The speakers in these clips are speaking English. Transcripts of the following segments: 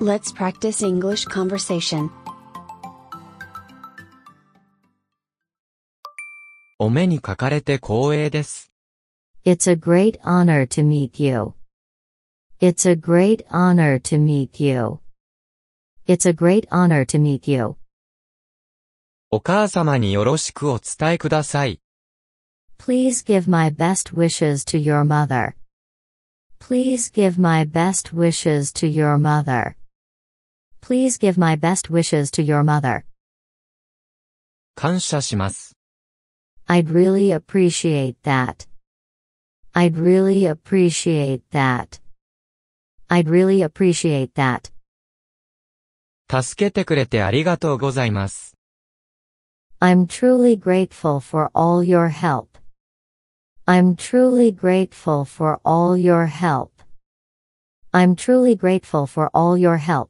Let's practice English conversation. お目にかかれて光栄です。 It's a great honor to meet you. It's a great honor to meet you. It's a great honor to meet you. お母様によろしくお伝えください。 Please give my best wishes to your mother. Please give my best wishes to your mother. Please give my best wishes to your mother. 感謝します。 I'd really appreciate that. I'd really appreciate that. I'd really appreciate that. 助けてくれてありがとうございます。 I'm truly grateful for all your help. I'm truly grateful for all your help. I'm truly grateful for all your help.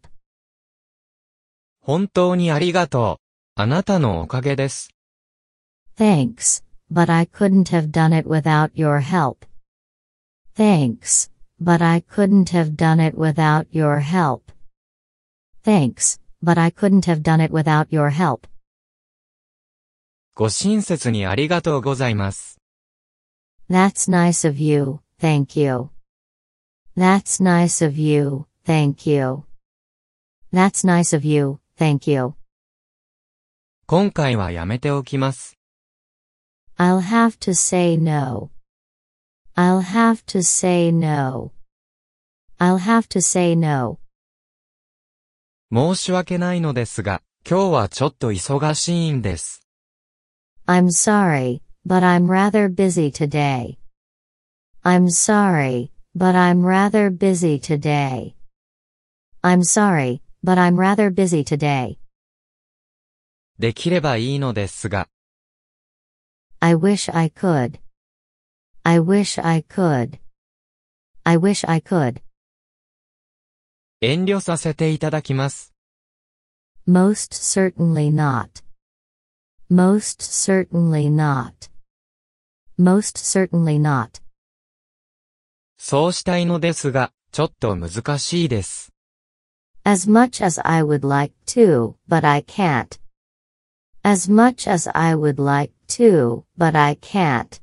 本当にありがとう。あなたのおかげです。 Thanks, but I couldn't have done it without your help. Thanks, but I couldn't have done it without your help. Thanks, but I couldn't have done it without your help. ご親切にありがとうございます。 That's nice of you, thank you. That's nice of you, thank you. That's nice of you, thank you. 今回はやめておきます。 I'll have to say no. I'll have to say no. I'll have to say no. 申し訳ないのですが、今日はちょっと忙しいんです。 I'm sorry, but I'm rather busy today. I'm sorry, but I'm rather busy today. I'm sorry, but I'm rather busy today. できればいいのですが。 I wish I could. I wish I could. I wish I could. 遠慮させていただきます。 Most certainly not. Most certainly not. Most certainly not. そうしたいのですが、ちょっと難しいです。 As much as I would like to, but I can't. As much as I would like to, but I can't.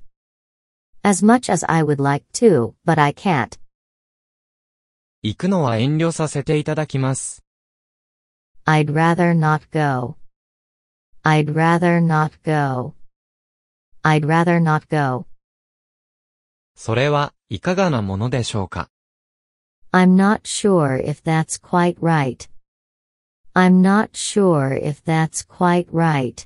As much as I would like to, but I can't. 行くのは遠慮させていただきます。 I'd rather not go. I'd rather not go. I'd rather not go. それはいかがなものでしょうか。 I'm not sure if that's quite right. I'm not sure if that's quite right.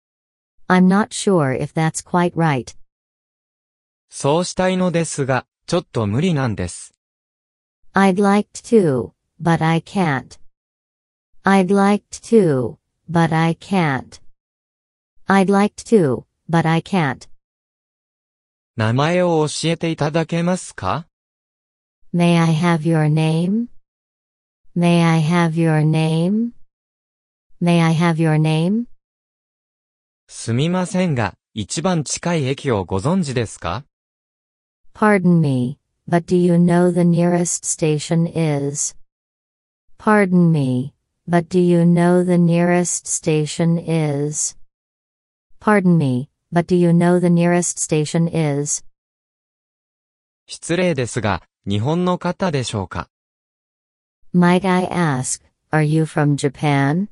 I'm not sure if that's quite right. そうしたいのですが、ちょっと無理なんです。 I'd like to, but I can't. I'd like to, but I can't. I'd like to, but I can't. 名前を教えていただけますか？ May I have your name? May I have your name? May I have your name? すみませんが、一番近い駅をご存知ですか？ Pardon me, but do you know the nearest station is? Pardon me, but do you know the nearest station is? Pardon me, but do you know the nearest station is? 失礼ですが、日本の方でしょうか？ Might I ask, are you from Japan?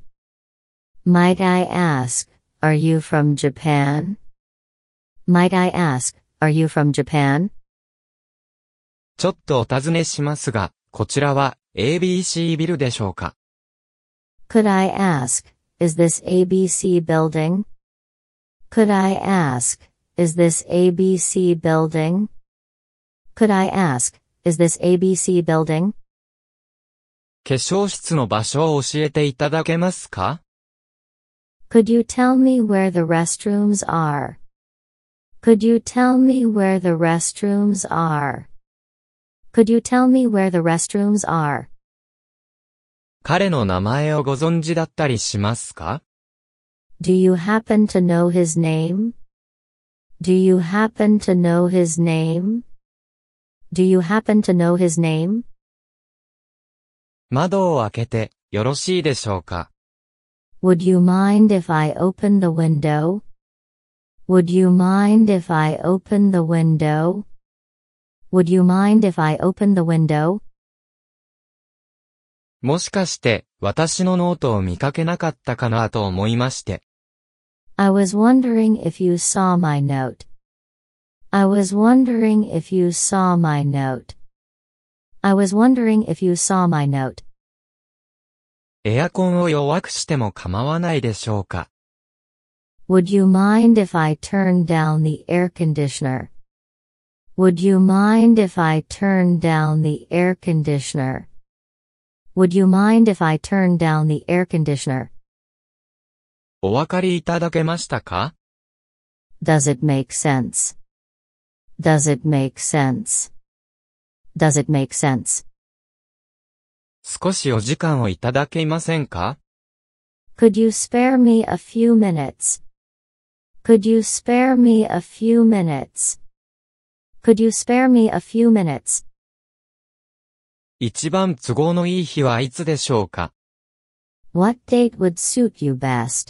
Might I ask, are you from Japan? Might I ask, are you from Japan? ちょっとお尋ねしますが、こちらは ABC ビルでしょうか？ Could I ask, is this ABC building? Could I ask, is this ABC building? Could I ask, is this ABC building? 化粧室の場所を教えていただけますか？ Could you tell me where the restrooms are? Could you tell me where the restrooms are? Could you tell me where the restrooms are? 彼の名前をご存知だったりしますか？ Do you happen to know his name? Do you happen to know his name? Do you happen to know his name? 窓を開けてよろしいでしょうか？ Would you mind if I open the window? Would you mind if I open the window? Would you mind if I open the window? もしかして私のノートを見かけなかったかなと思いまして。 I was wondering if you saw my note. I was wondering if you saw my note. I was wondering if you saw my note. エアコンを弱くしても構わないでしょうか？ Would you mind if I turn down the air conditioner? Would you mind if I turn down the air conditioner? Would you mind if I turn down the air conditioner? お分かりいただけましたか？ Does it make sense? Does it make sense? Does it make sense? 少しお時間をいただけませんか？ Could you spare me a few minutes? Could you spare me a few minutes? Could you spare me a few minutes? 一番都合のいい日はいつでしょうか？ What date would suit you best?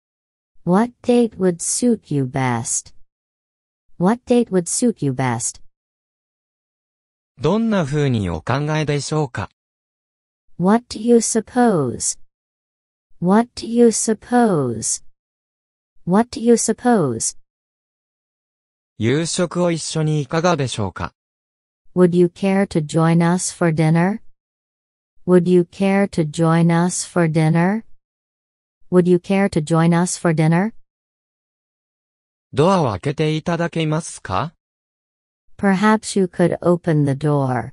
What date would suit you best? What date would suit you best? どんな風にお考えでしょうか？ What do you suppose? What do you suppose? What do you suppose? 夕食を一緒にいかがでしょうか？ Would you care to join us for dinner? Would you care to join us for dinner? Would you care to join us for dinner? ドアを開けていただけますか？ Perhaps you could open the door.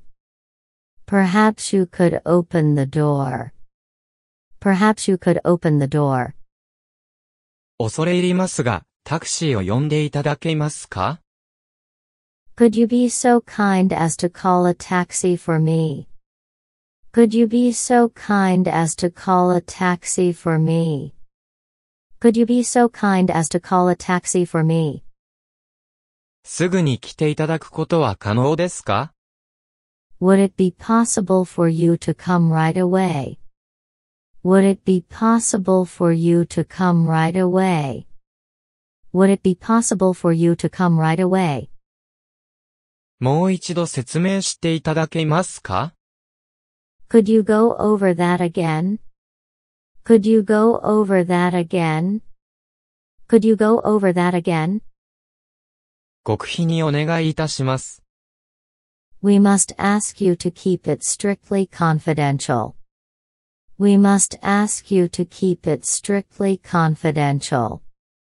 Perhaps you could open the door. Perhaps you could open the door. 恐れ入りますが、タクシーを呼んでいただけますか？ Could you be so kind as to call a taxi for me? Could you be so kind as to call a taxi for me? Could you be so kind as to call a taxi for me? すぐに来ていただくことは可能ですか？ Would it be possible for you to come right away? Would it be possible for you to come right away? Would it be possible for you to come right away? もう一度説明していただけますか？ Could you go over that again? Could you go over that again? Could you go over that again? 極秘にお願いいたします。 We must ask you to keep it strictly confidential. We must ask you to keep it strictly confidential.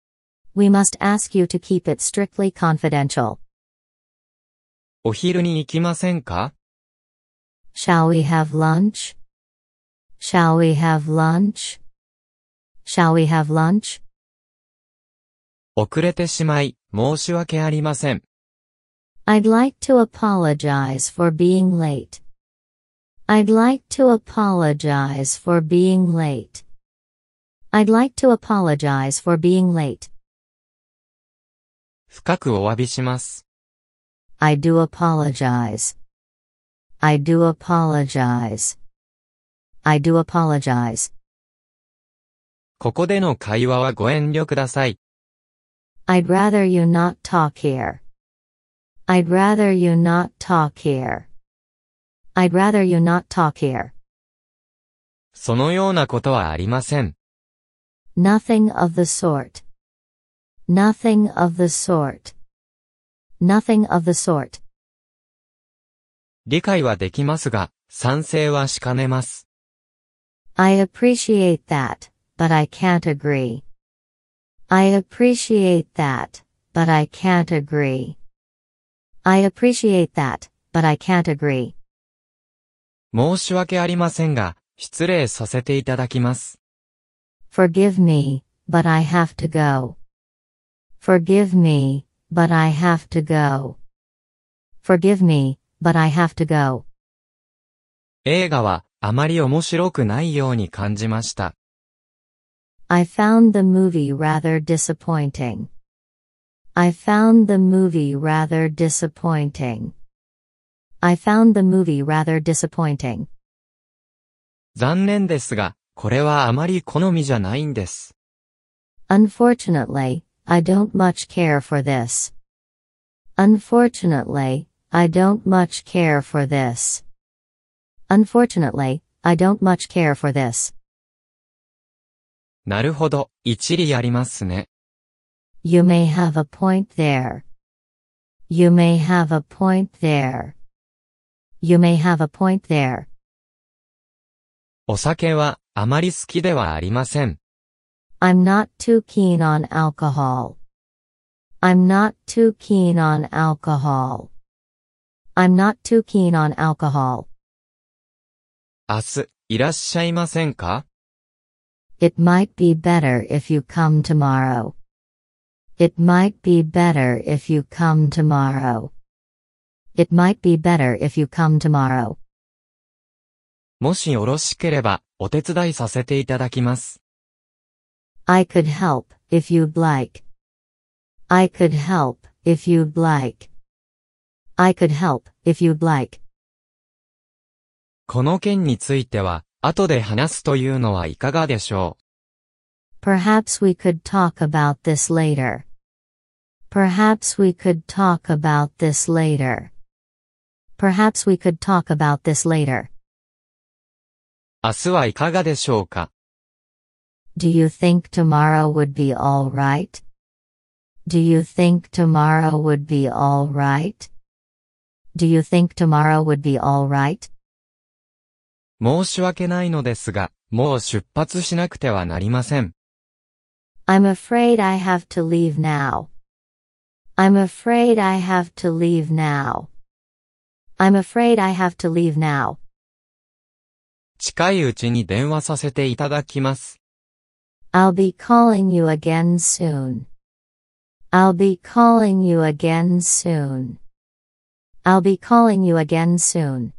We must ask you to keep it strictly confidential. お昼に行きませんか？ Shall we have lunch? Shall we have lunch? Shall we have lunch? 遅れてしまい、申し訳ありません。 I'd like to apologize for being late. I'd like to apologize for being late. I'd like to apologize for being late. 深くお詫びします。 I do apologize. I do apologize. I do apologize. ここでの会話はご遠慮ください。 I'd rather you not talk here. I'd rather you not talk here. I'd rather you not talk here. そのようなことはありません。 Nothing of the sort. Nothing of the sort. Nothing of the sort. 理解はできますが、賛成はしかねます。 I appreciate that, but I can't agree. I appreciate that, but I can't agree. I appreciate that, but I can't agree. 申し訳ありませんが、失礼させていただきます。 Forgive me, but I have to go. Forgive me, but I have to go. Forgive me, but I have to go. 映画はあまり面白くないように感じました。 I found the movie rather disappointing. I found the movie rather disappointing. I found the movie rather disappointing. 残念ですが、これはあまり好みじゃないんです。 Unfortunately, I don't much care for this. Unfortunately, I don't much care for this. Unfortunately, I don't much care for this. なるほど、一理ありますね。 You may have a point there. You may have a point there. You may have a point there. お酒はあまり好きではありません。 I'm not too keen on alcohol. I'm not too keen on alcohol. I'm not too keen on alcohol. 明日、いらっしゃいませんか？ It might be better if you come tomorrow. It might be better if you come tomorrow. It might be better if you come tomorrow. もしよろしければ、お手伝いさせていただきます。 I could help, if you'd like. I could help, if you'd like. I could help, if you'd like. この件については、後で話すというのはいかがでしょう。 Perhaps we could talk about this later. Perhaps we could talk about this later. Perhaps we could talk about this later. 明日はいかがでしょうか。 Do you think tomorrow would be all right? Do you think tomorrow would be all right? Do you think tomorrow would be all right? 申し訳ないのですが、もう出発しなくてはなりません。 I'm afraid I have to leave now. I'm afraid I have to leave now. I'm afraid I have to leave now. 近いうちに電話させていただきます。 I'll be calling you again soon. I'll be calling you again soon. I'll be calling you again soon.